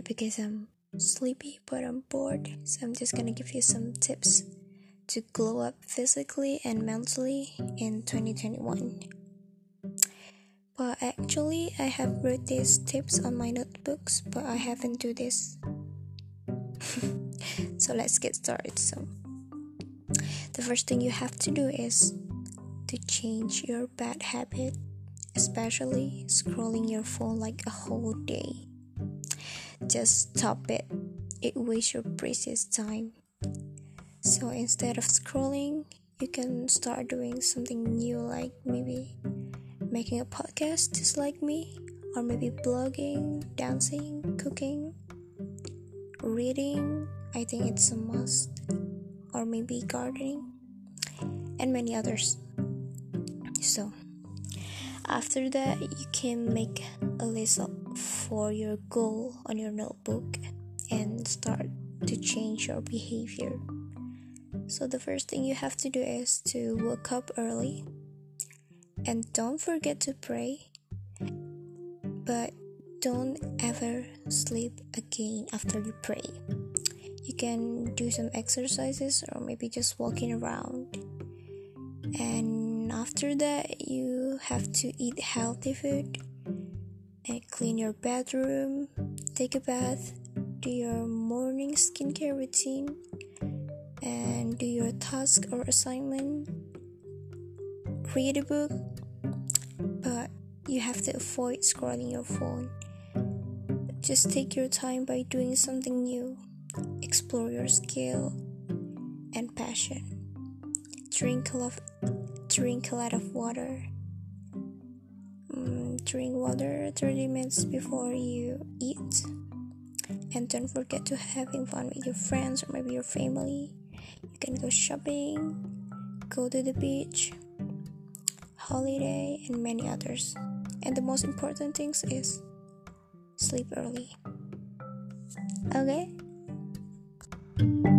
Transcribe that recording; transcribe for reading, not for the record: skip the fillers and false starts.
not because I'm sleepy, but I'm bored. So I'm just gonna give you some tips to glow up physically and mentally in 2021. But actually, I have wrote these tips on my notebooks, but I haven't do this. So let's get started. So the first thing you have to do is to change your bad habit, especially scrolling your phone like a whole day. Just stop it. It wastes your precious time. So instead of scrolling, you can start doing something new, like maybe making a podcast just like me, or maybe blogging, dancing, cooking, reading. I think it's a must, or maybe gardening, and many others. So after that, you can make a list for your goal on your notebook and start to change your behavior. So the first thing you have to do is to wake up early, and don't forget to pray, but don't ever sleep again after you pray. You can do some exercises or maybe just walking around. And after that, you have to eat healthy food and clean your bedroom, take a bath, do your morning skincare routine, and do your task or assignment. Read a book, but you have to avoid scrolling your phone. Just take your time by doing something new. Explore your skill and passion. Drink a lot of water. Drink water 30 minutes before you eat. And don't forget to having fun with your friends or maybe your family. You can go shopping, go to the beach, holiday, and many others. And the most important things is sleep early. Okay?